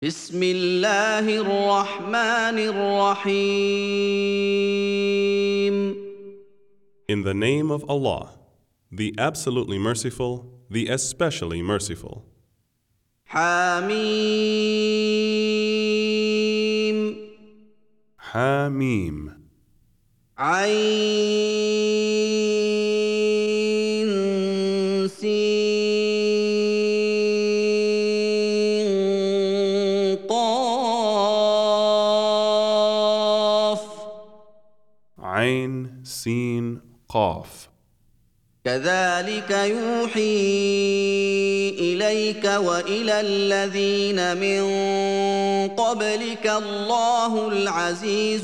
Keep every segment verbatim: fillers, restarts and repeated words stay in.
بسم الله الرحمن الرحيم. In the name of Allah, the absolutely merciful, the especially merciful. حميم. Hamim. عين سين قاف. Ain, Sin, Qaf. كذلك يوحي إليك وإلى الذين من قبلك الله العزيز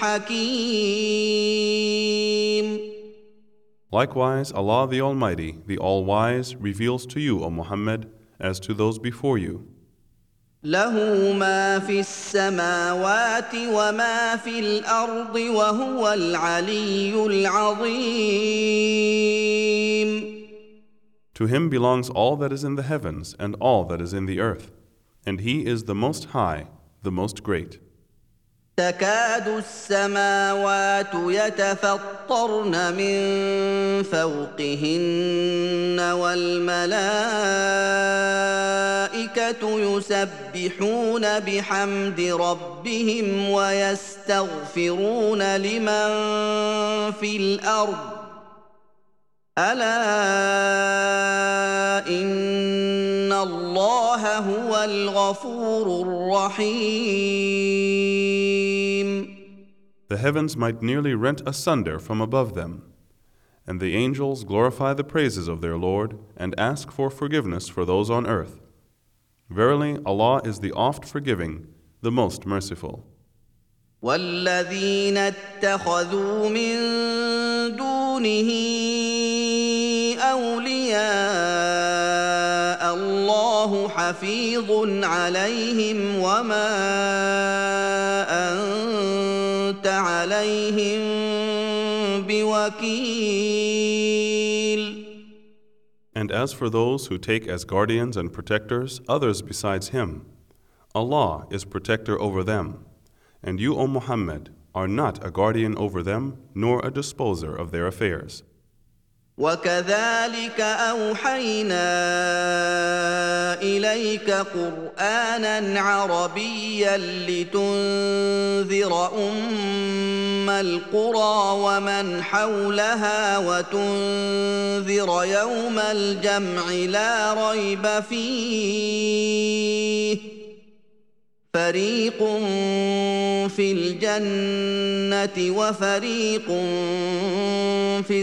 الحكيم. Likewise, Allah the Almighty, the All-Wise, reveals to you, O Muhammad, as to those before you. له ما في السماوات وما في الأرض وهو العلي العظيم. To him belongs all that is in the heavens and all that is in the earth, and he is the Most High, the Most Great. تكاد السماوات يتفطرن من فوقهن والملائكة يسبحون بحمد ربهم ويستغفرون لمن في الأرض ألا إن الله هو الغفور الرحيم. The heavens might nearly rent asunder from above them, and the angels glorify the praises of their Lord and ask for forgiveness for those on earth. Verily, Allah is the oft forgiving, the most merciful. والذين اتخذوا من دونه أولياء الله حفيظ عليهم وما أنت عليهم بوكيل. And as for those who take as guardians and protectors others besides Him, Allah is protector over them, and you, O Muhammad, are not a guardian over them nor a disposer of their affairs. وكذلك أوحينا إليك قرآنا عربيا لتنذر أم القرى ومن حولها وتنذر يوم الجمع لا ريب فيه فريق في الجنة وفريق في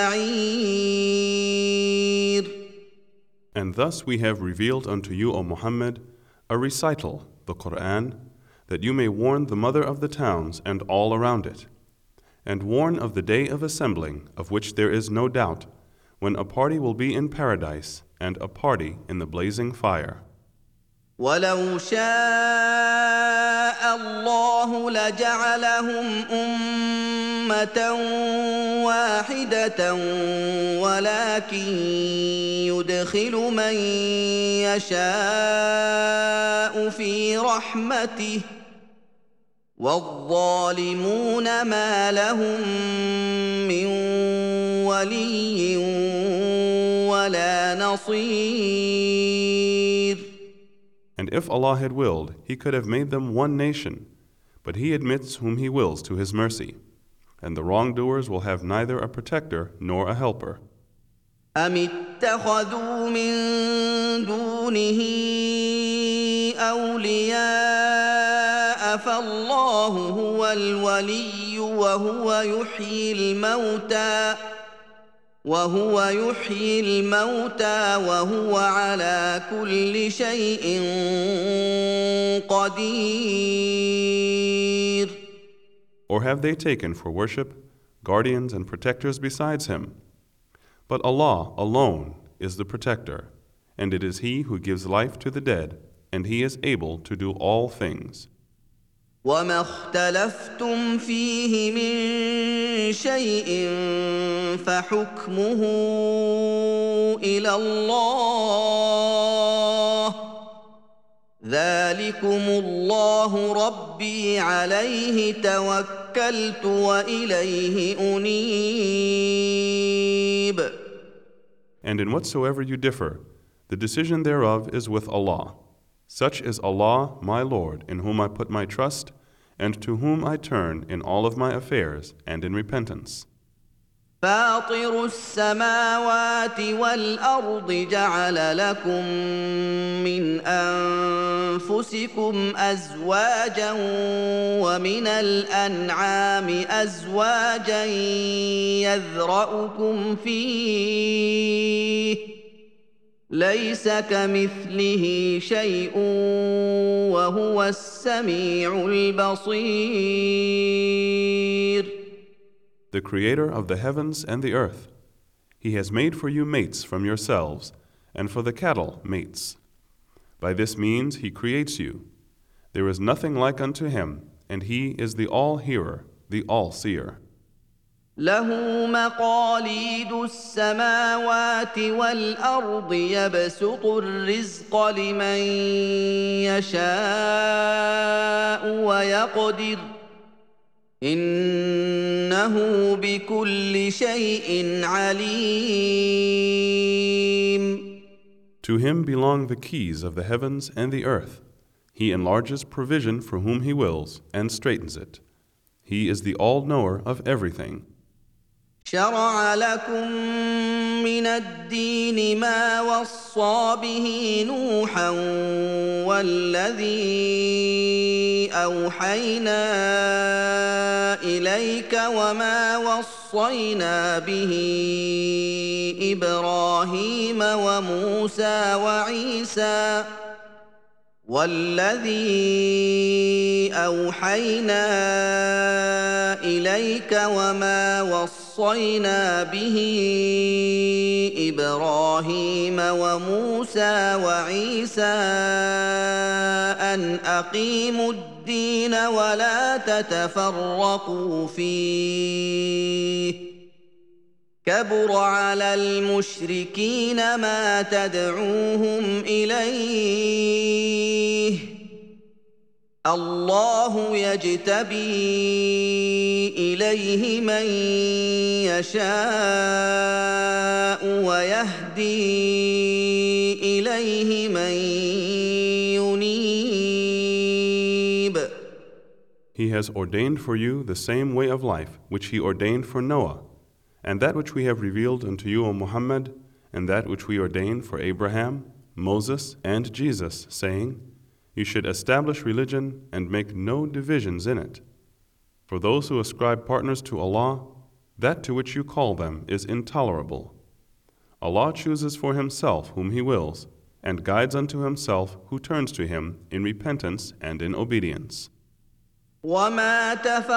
السعير. And thus we have revealed unto you, O Muhammad, a recital, the Qur'an, that you may warn the mother of the towns and all around it, and warn of the day of assembling, of which there is no doubt, when a party will be in paradise and a party in the blazing fire. ولو شاء الله لجعلهم أمة واحدة ولكن يدخل من يشاء في رحمته والظالمون ما لهم من ولي ولا نصير. And if Allah had willed, He could have made them one nation, but He admits whom He wills to His mercy, and the wrongdoers will have neither a protector nor a helper. أم اتخذوا من دونه أولياء فالله هو الولي وهو يحيي الموتى وهو يحيي الموتى وهو على كل شيء قدير. Or have they taken for worship guardians and protectors besides Him? But Allah alone is the protector, and it is He who gives life to the dead, and He is able to do all things. وما اختلفتم فيه من شيء فحكمه إلى الله ذلكم الله ربي عليه توكلت وإليه أنيب. And in whatsoever you differ, the decision thereof is with Allah. Such is Allah, my Lord, in whom I put my trust, and to whom I turn in all of my affairs and in repentance. فاطر السماوات والأرض جعل لكم من أنفسكم أزواجا ومن الأنعام أزواجا يذرأكم فيه ليس كمثله شيء وهو السميع البصير. The Creator of the heavens and the earth, He has made for you mates from yourselves, and for the cattle mates. By this means He creates you. There is nothing like unto Him, and He is the all-hearer, the all-seer. له مقاليد السماوات والأرض يبسط الرزق لمن يشاء ويقدر إنه بكل شيء عليم. To Him belong the keys of the heavens and the earth. He enlarges provision for whom He wills and straightens it. He is the all-knower of everything. شرع لكم من الدين ما وصى به نوحا والذي أوحينا إليك وما وصينا به إبراهيم وموسى وعيسى والذي أوحينا إليك وما وصينا به إبراهيم وموسى وعيسى أن أقيموا الدين ولا تتفرقوا فيه كبر على المشركين ما تدعوهم إليه الله يجتبي إليه من يشاء ويهدي إليه من ينيب. He has ordained for you the same way of life which He ordained for Noah, and that which we have revealed unto you, O Muhammad, and that which we ordained for Abraham, Moses, and Jesus, saying, You should establish religion and make no divisions in it. For those who ascribe partners to Allah, that to which you call them is intolerable. Allah chooses for Himself whom He wills, and guides unto Himself who turns to Him in repentance and in obedience. وما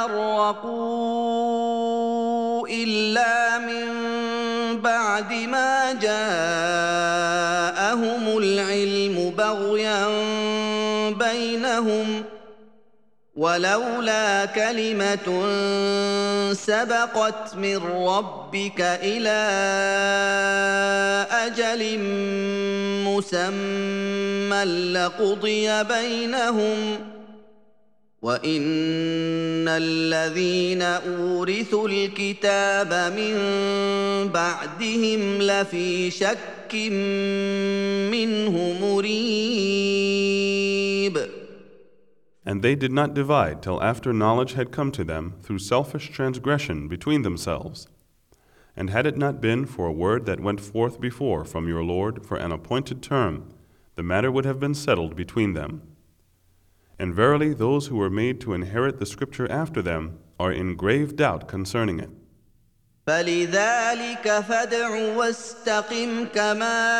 تفرقوا إلا من بعد ما جاءهم العلم بغيا بينهم ولولا كلمة سبقت من ربك إلى أجل مسمى لقضي بينهم وإن الذين أورثوا الكتاب من بعدهم لفي شك منه مريب. And they did not divide till after knowledge had come to them through selfish transgression between themselves. And had it not been for a word that went forth before from your Lord for an appointed term, the matter would have been settled between them. And verily those who were made to inherit the scripture after them are in grave doubt concerning it. فلذلك فادع واستقم كما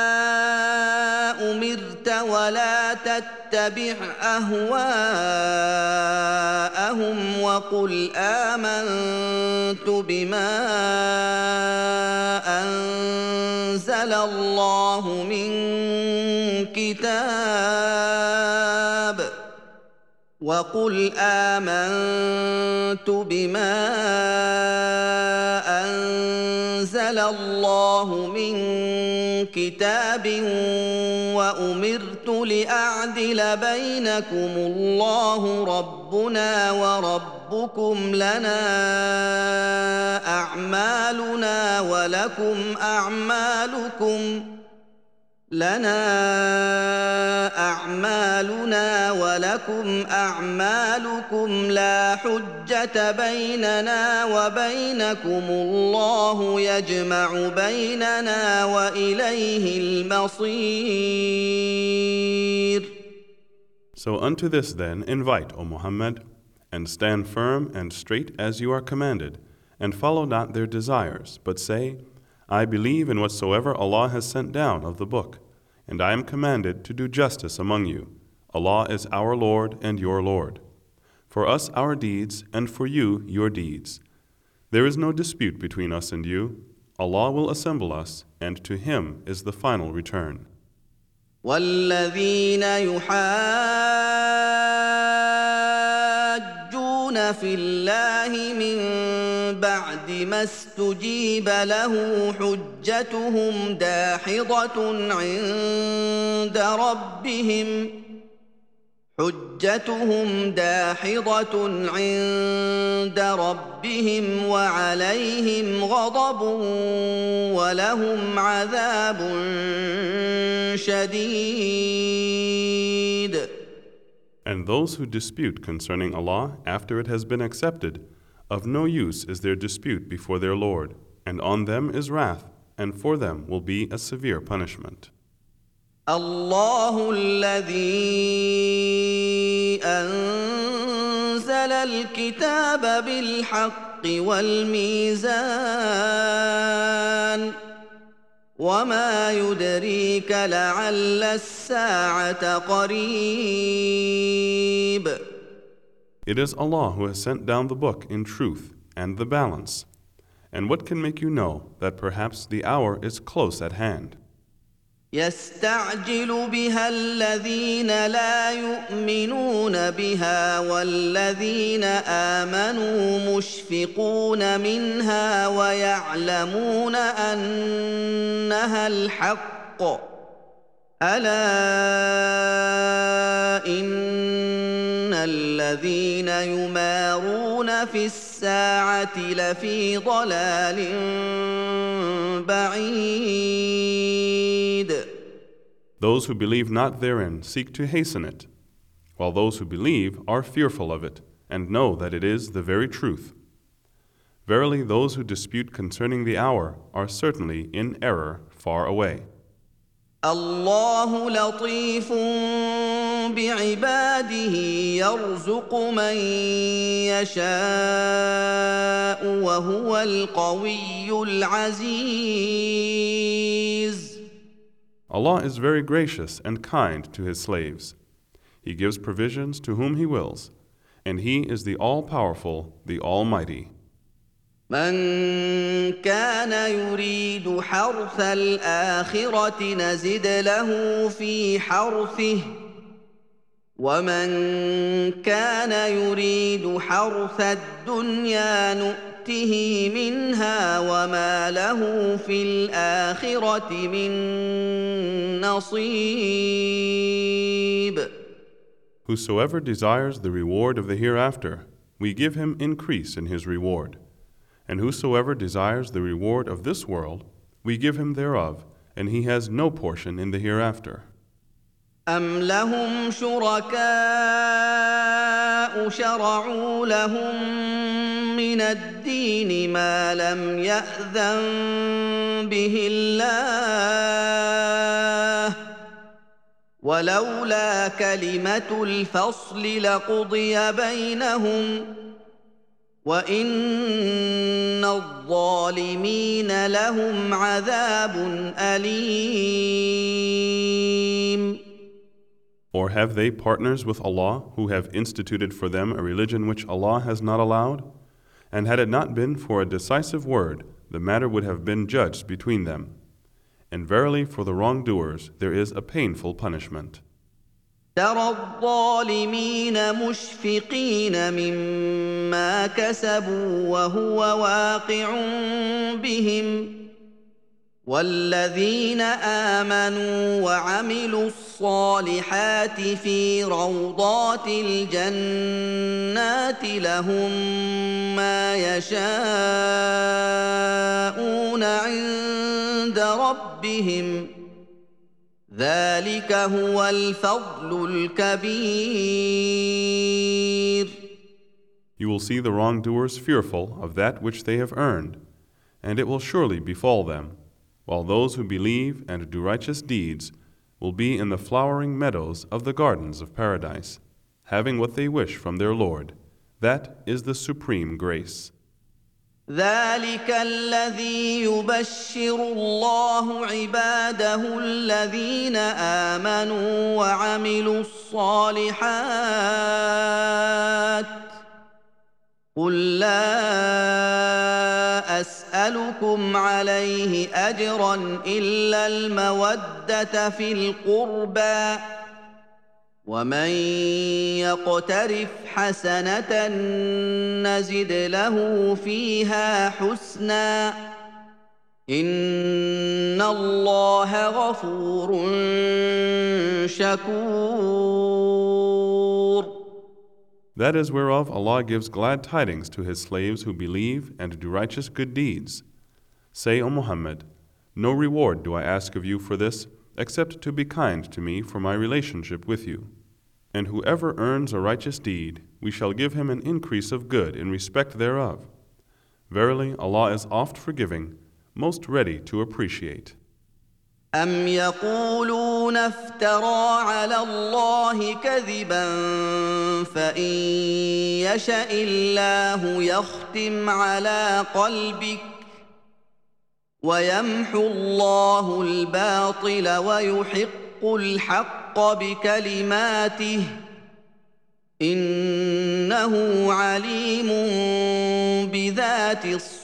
أمرت ولا تتبع أهواءهم وقل آمنت بما أنزل الله من كتاب وقل آمنت بما أنزل الله من كتاب وأمرت لأعدل بينكم الله ربنا وربكم لنا أعمالنا ولكم أعمالكم لنا أعمالنا ولكم أعمالكم لا حجة بيننا وبينكم الله يجمع بيننا وإليه المصير. So unto this then invite, O Muhammad, and stand firm and straight as you are commanded, and follow not their desires, but say, I believe in whatsoever Allah has sent down of the book, and I am commanded to do justice among you. Allah is our Lord and your Lord. For us our deeds, and for you your deeds. There is no dispute between us and you. Allah will assemble us, and to Him is the final return. وَالَّذِينَ يُحَاجُّونَ فِي اللَّهِ مِن بَعْدِ مَا اسْتُجِيبَ لَهُ حُجَّتُهُمْ دَاحِضَةٌ عِندَ رَبِّهِمْ حُجَّتُهُمْ دَاحِضَةٌ عِندَ رَبِّهِمْ وَعَلَيْهِمْ غَضَبٌ وَلَهُمْ عَذَابٌ شَدِيدٌ. And those who dispute concerning Allah after it has been accepted, of no use is their dispute before their Lord, and on them is wrath, and for them will be a severe punishment. الله الذي أنزل الكتاب بالحق والميزان وما يدريك لعل الساعة قريب. It is Allah who has sent down the book in truth and the balance. And what can make you know that perhaps the hour is close at hand? يستعجل بها الذين لا يؤمنون بها والذين آمنوا مشفقون منها ويعلمون أنها الحق ألا إن الذين يمارون في الساعة لفي ضلال بعيد. Those who believe not therein seek to hasten it, while those who believe are fearful of it and know that it is the very truth. Verily, those who dispute concerning the hour are certainly in error far away. الله لطيف بعباده يرزق من يشاء وهو القوي العزيز. Allah is very gracious and kind to His slaves. He gives provisions to whom He wills, and He is the all-powerful, the Almighty. من كان يريد حرث الآخرة نزد له في حرثه ومن كان يريد حرث الدنيا نؤته منها وما له في الآخرة من نصيب. Whosoever desires the reward of the hereafter, we give him increase in his reward. And whosoever desires the reward of this world, we give him thereof, and he has no portion in the hereafter. أَمْ لَهُمْ شُرَكَاءُ شَرَعُوا لَهُم مِّنَ الدِّينِ مَا لَمْ يَأْذَن بِهِ اللَّهُ وَلَوْلَا كَلِمَةُ الْفَصْلِ لَقُضِيَ بَيْنَهُمْ وَإِنَّ الظَّالِمِينَ لَهُمْ عَذَابٌ أَلِيمٌ. Or have they partners with Allah who have instituted for them a religion which Allah has not allowed? And had it not been for a decisive word, the matter would have been judged between them. And verily for the wrongdoers there is a painful punishment. ترى الظالمين مشفقين مما كسبوا وهو واقع بهم والذين آمنوا وعملوا الصالحات في روضات الجنات لهم ما يشاءون عند ربهم ذلك هو الفضل الكبير. You will see the wrongdoers fearful of that which they have earned, and it will surely befall them, while those who believe and do righteous deeds will be in the flowering meadows of the gardens of paradise, having what they wish from their Lord. That is the supreme grace. ذلك الذي يبشر الله عباده الذين آمنوا وعملوا الصالحات قل لا أسألكم عليه أجرا إلا المودة في القربى ومن يقترف حسنة نزد له فيها حسنا إن الله غفور شكور. That is whereof Allah gives glad tidings to His slaves who believe and do righteous good deeds. Say, O Muhammad, no reward do I ask of you for this, except to be kind to me for my relationship with you. And whoever earns a righteous deed, we shall give him an increase of good in respect thereof. Verily, Allah is oft forgiving, most ready to appreciate. أم يقولون افترى على الله كذبا فإن يشأ الله يختم على قلبك ويمحو الله الباطل ويحق الحق بكلماته إنه عليم بذات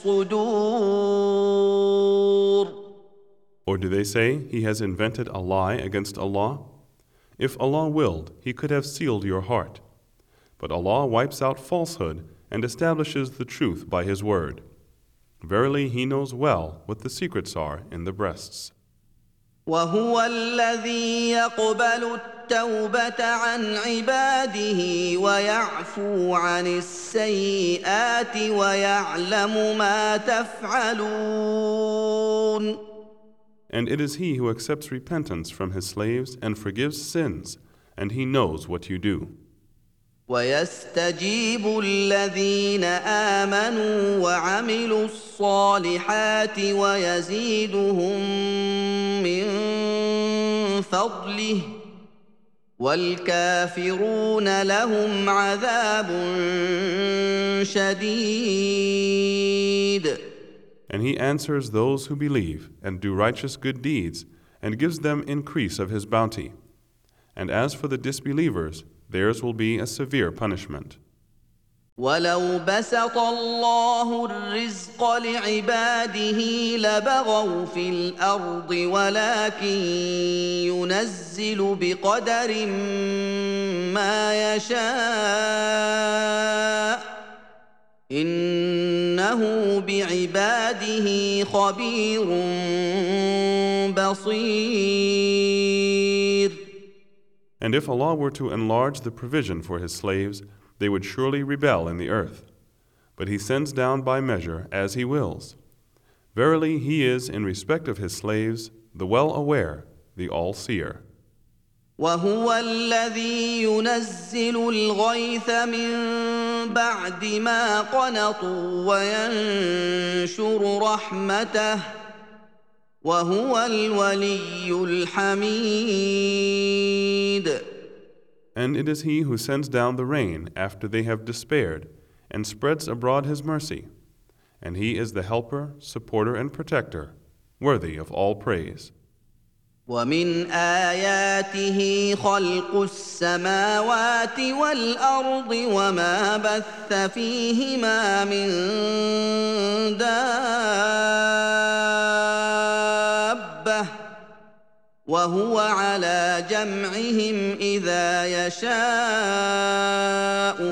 الصدور. Or do they say, he has invented a lie against Allah? If Allah willed, He could have sealed your heart. But Allah wipes out falsehood and establishes the truth by His word. Verily, He knows well what the secrets are in the breasts. وهو الذي يقبل التوبة عن عباده ويعفو عن السيئات ويعلم ما تفعلون. And it is He who accepts repentance from His slaves and forgives sins, and He knows what you do. ويستجيب الذين آمنوا وعملوا الصالحات ويزيدهم من فضله والكافرون لهم عذاب شديد. And He answers those who believe and do righteous good deeds and gives them increase of His bounty. And as for the disbelievers, theirs will be a severe punishment. ولو بسط الله الرزق لعباده لبغوا في الأرض ولكن ينزل بقدر ما يشاء إنه بعباده خبير بصير. And if Allah were to enlarge the provision for His slaves, they would surely rebel in the earth. But He sends down by measure as He wills. Verily, He is, in respect of His slaves, the well-aware, the all-seer. وهو الذي ينزل الغيث من بعد ما قنطوا وينشر رحمته وهو الولي الحميد. And it is He who sends down the rain after they have despaired, and spreads abroad His mercy. And He is the helper, supporter, and protector, worthy of all praise. ومن آياته خلق السماوات والأرض وما بث فيهما من دابة وهو على جمعهم إذا يشاء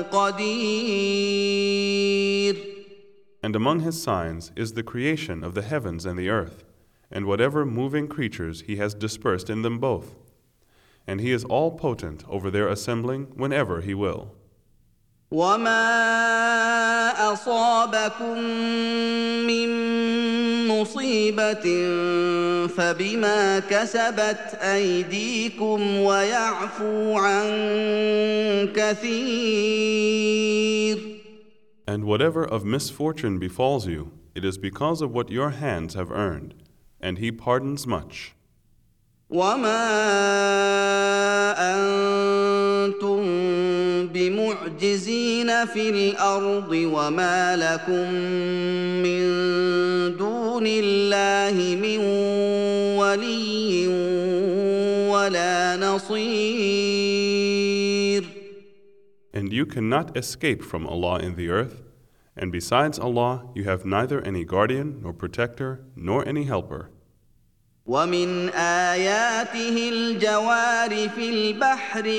قدير. And among his signs is the creation of the heavens and the earth, and whatever moving creatures he has dispersed in them both. And he is all potent over their assembling whenever he will. وما أصابكم من مصيبة فبما كسبت أيديكم ويعفو عن كثير. And whatever of misfortune befalls you, it is because of what your hands have earned, and he pardons much. وما أنتم بمعجزين في الأرض وما لكم من دون الله من ولي ولا نصير. And you cannot escape from Allah in the earth, and besides Allah you have neither any guardian nor protector nor any helper. ومن آياته الجوار في البحر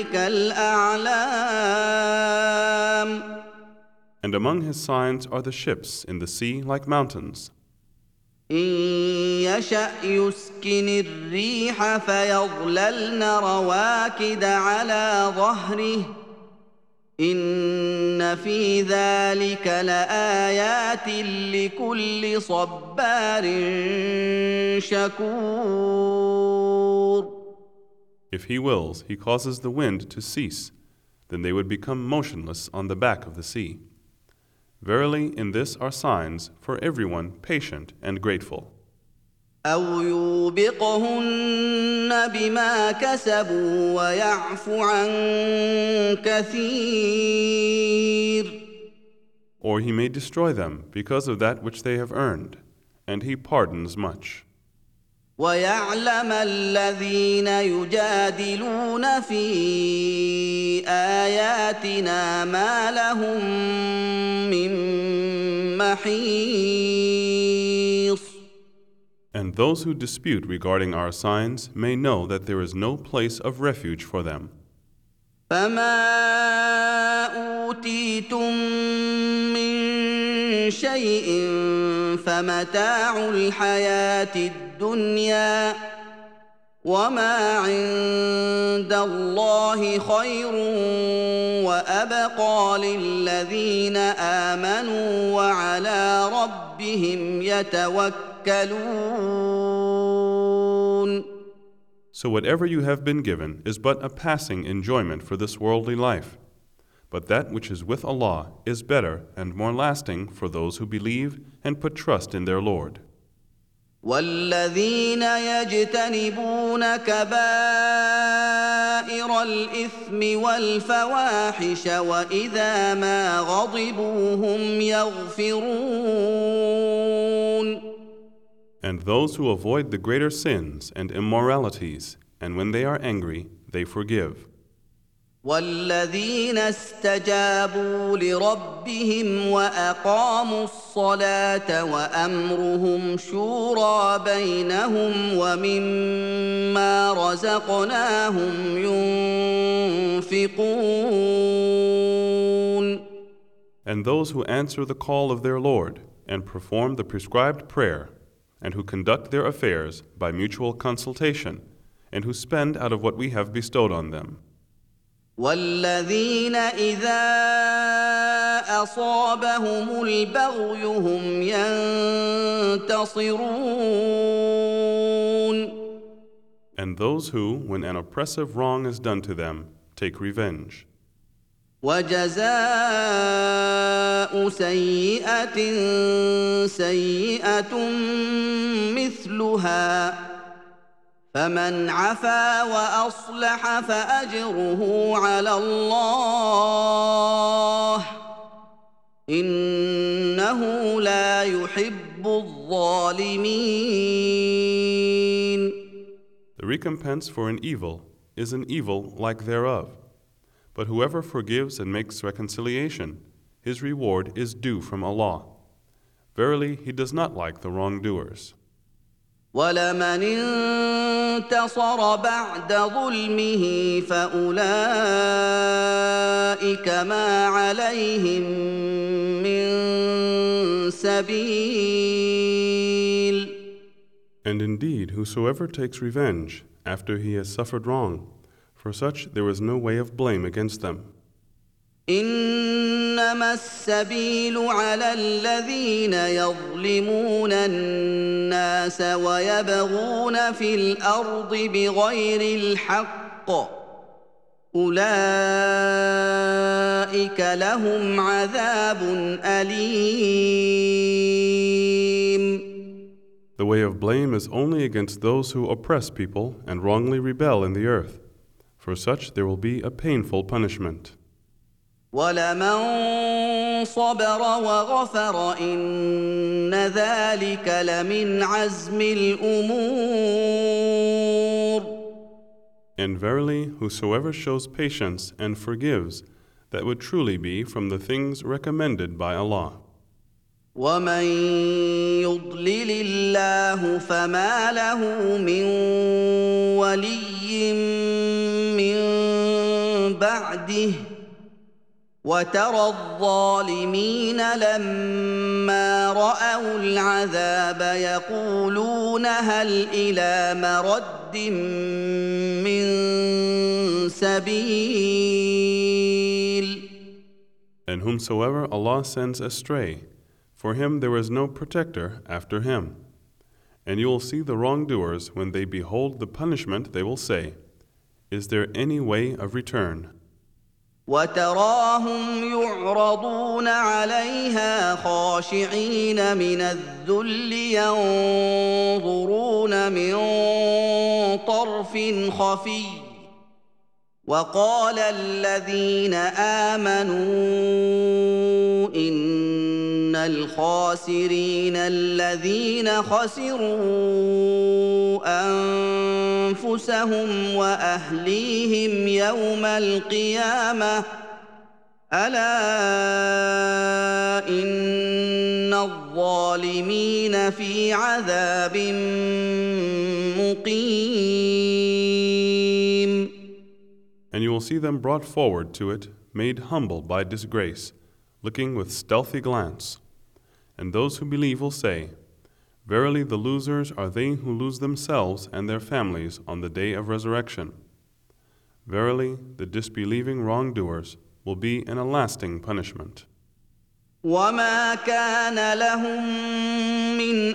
كالأعلام. And among his signs are the ships in the sea like mountains. إن يشأ يسكن الريح فيظللن رواكد على ظهره إن في ذلك لآيات لكل صبار شكور. If he wills, he causes the wind to cease, then they would become motionless on the back of the sea. Verily, in this are signs for everyone patient and grateful. أو يوبقهن بما كسبوا ويعفو عن كثير. Or he may destroy them because of that which they have earned, and he pardons much. ويعلم الذين يجادلون في آياتنا ما لهم من محيص. And those who dispute regarding our signs may know that there is no place of refuge for them. فما أوتيتم من شيء فمتاع الحياة الدنيا وما عند الله خير وأبقى للذين آمنوا وعلى ربهم يتوكلون. So whatever you have been given is but a passing enjoyment for this worldly life. But that which is with Allah is better and more lasting for those who believe and put trust in their Lord. والذين يجتنبون كبائر الإثم والفواحش وإذا ما غضبوا هم يغفرون. And those who avoid the greater sins and immoralities, and when they are angry, they forgive. والذين استجابوا لربهم وأقاموا الصلاة وأمرهم شورى بينهم ومما رزقناهم ينفقون. And those who answer the call of their Lord and perform the prescribed prayer, and who conduct their affairs by mutual consultation, and who spend out of what we have bestowed on them. والذين إذا أصابهم البغي هم ينتصرون. And those who, when an oppressive wrong is done to them, take revenge. وجزاء سيئة سيئة مثلها فمن عفا وأصلح فأجره على الله إنه لا يحب الظالمين. The recompense for an evil is an evil like thereof. But whoever forgives and makes reconciliation, his reward is due from Allah. Verily, He does not like the wrongdoers. وَلَمَنِ انتصر بعد ظلمه فأولئك ما عليهم من سبيل. And indeed, whosoever takes revenge after he has suffered wrong, for such there is no way of blame against them. إنما السبيل على الذين يظلمون الناس ويبغون في الأرض بغير الحق أولئك لهم عذاب أليم. The way of blame is only against those who oppress people and wrongly rebel in the earth. For such there will be a painful punishment. وَلَمَنْ صَبَرَ وَغَفَرَ إِنَّ ذَلِكَ لَمِنْ عَزْمِ الْأُمُورِ. And verily, whosoever shows patience and forgives, that would truly be from the things recommended by Allah. وَمَنْ يُضْلِلِ اللَّهُ فَمَا لَهُ مِنْ وَلِيٍّ مِّنْ بَعْدِهِ وَتَرَى الظَّالِمِينَ لَمَّا رَأَوُا الْعَذَابَ يَقُولُونَ هَلْ إِلَى مَرَدٍّ مِّن سَبِيلٍ. And whomsoever Allah sends astray, for him there is no protector after him. And you will see the wrongdoers when they behold the punishment, they will say, is there any way of return? وَتَرَاهُمْ يُعْرَضُونَ عَلَيْهَا خَاشِعِينَ مِنَ الذُّلِّ يَنظُرُونَ مِن طَرْفٍ خَفِيٍّ وَقَالَ الَّذِينَ آمَنُوا إِنَّ الْخَاسِرِينَ الَّذِينَ خَسِرُوا أَنفُسَهُمْ وَأَهْلِيهِمْ يَوْمَ الْقِيَامَةِ أَلَا إِنَّ الظَّالِمِينَ فِي عَذَابٍ مُقِيمٍ. And you will see them brought forward to it, made humble by disgrace, looking with stealthy glance. And those who believe will say, verily the losers are they who lose themselves and their families on the day of resurrection. Verily, the disbelieving wrongdoers will be in a lasting punishment. وَمَا كَانَ لَهُم مِّنْ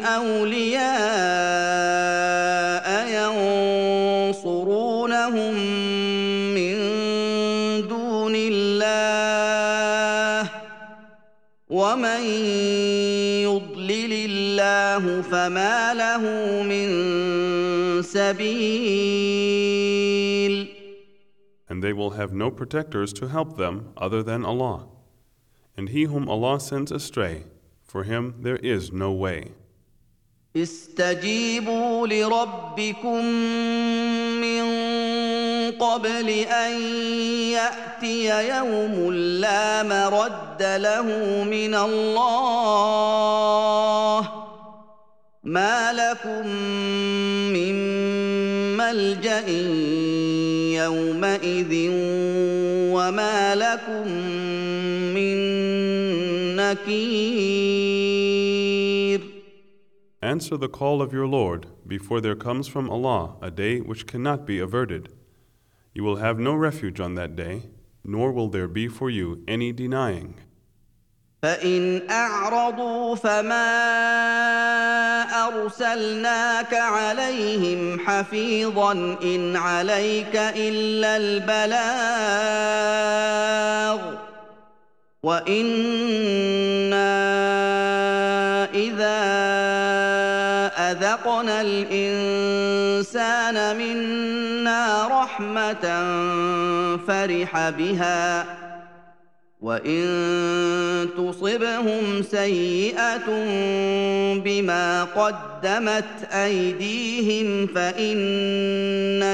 أَوْلِيَاءَ يَنصُرُونَهُم مِّن دُونِ اللَّهِ وَمَن يُضْلِلِ اللَّهُ فَمَا لَهُ مِن سَبِيلٍ. And they will have no protectors to help them other than Allah. And he whom Allah sends astray, for him there is no way. استجيبوا لربكم من قبل أن يأتي يوم لا مرد له من الله ما لكم من ملجأ يومئذ وما لكم من نكير. Answer the call of your Lord before there comes from Allah a day which cannot be averted. You will have no refuge on that day, nor will there be for you any denying. فإن أعرضوا فما أرسلناك عليهم حفيظا إن عليك إلا البلاغ وإنا إذا أذقنا الإنسان منا رحمة فرح بها وإن تصبهم سيئة بما قدمت أيديهم فإن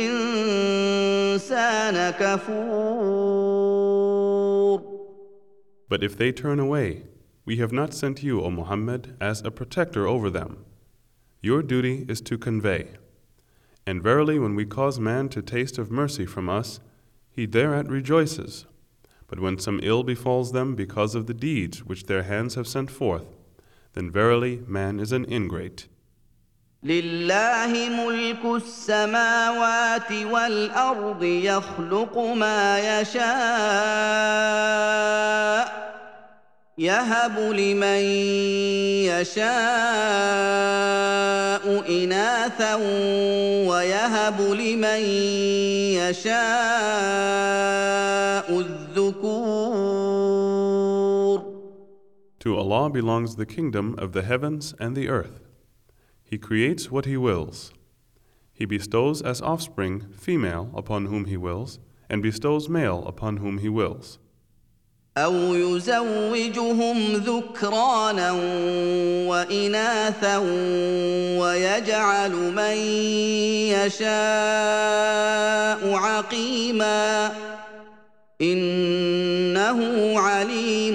الإنسان كفور. But if they turn away, we have not sent you, O Muhammad, as a protector over them. Your duty is to convey. And verily, when we cause man to taste of mercy from us, he thereat rejoices. But when some ill befalls them because of the deeds which their hands have sent forth, then verily man is an ingrate. لله ملك السماوات والأرض يخلق ما يشاء يهب لمن يشاء إناثا ويهب لمن يشاء الذكور. To Allah belongs the kingdom of the heavens and the earth. He creates what He wills. He bestows as offspring female upon whom He wills, and bestows male upon whom He wills. أو يزوجهم ذكرانا وإناثا ويجعل من يشاء عقيما إنه عليم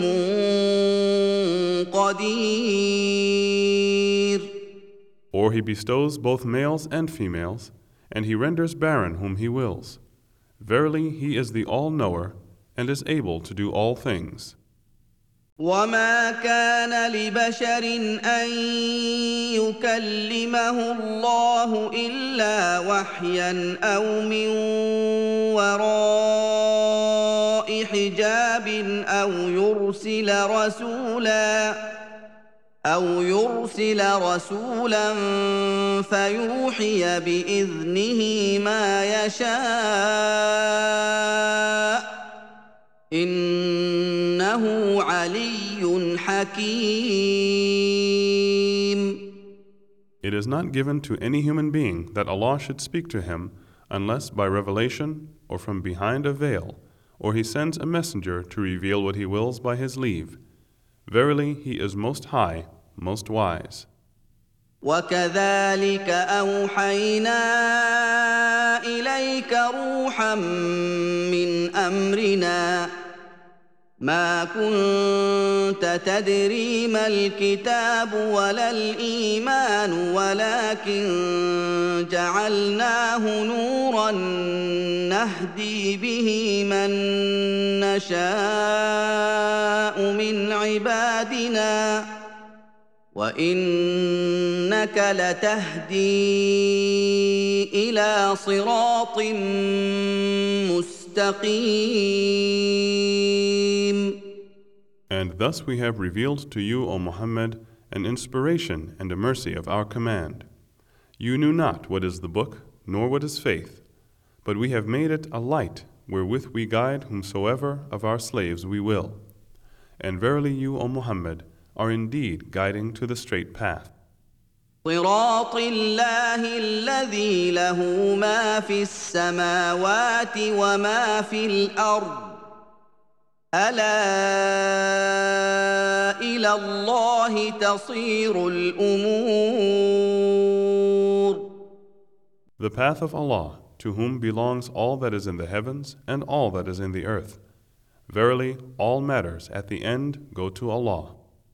قدير. Or He bestows both males and females, and He renders barren whom He wills. Verily, He is the all-knower, and is able to do all things. وما كان لبشر أن يكلمه الله إلا وحيا أو من وراء حجاب أو يرسل رسولا أو يرسل رسولا فيوحي بإذنه ما يشاء إنه علي حكيم. It is not given to any human being that Allah should speak to him unless by revelation or from behind a veil, or He sends a messenger to reveal what He wills by His leave. Verily, He is most high, most wise. وكذلك أوحينا إليك روحا من أمرنا ما كنت تدري ما الكتاب ولا الإيمان ولكن جعلناه نورا نهدي به من نشاء من عبادنا وإنك لتهدي إلى صراط مستقيم. And thus we have revealed to you, O Muhammad, an inspiration and a mercy of our command. You knew not what is the book, nor what is faith, but we have made it a light wherewith we guide whomsoever of our slaves we will. And verily you, O Muhammad, are indeed guiding to the straight path. صراط الله الذي له ما في السماوات وما في الأرض ألا إلى الله تصير الأمور. The path of Allah, to whom belongs all that is in the heavens and all that is in the earth. Verily, all matters at the end go to Allah.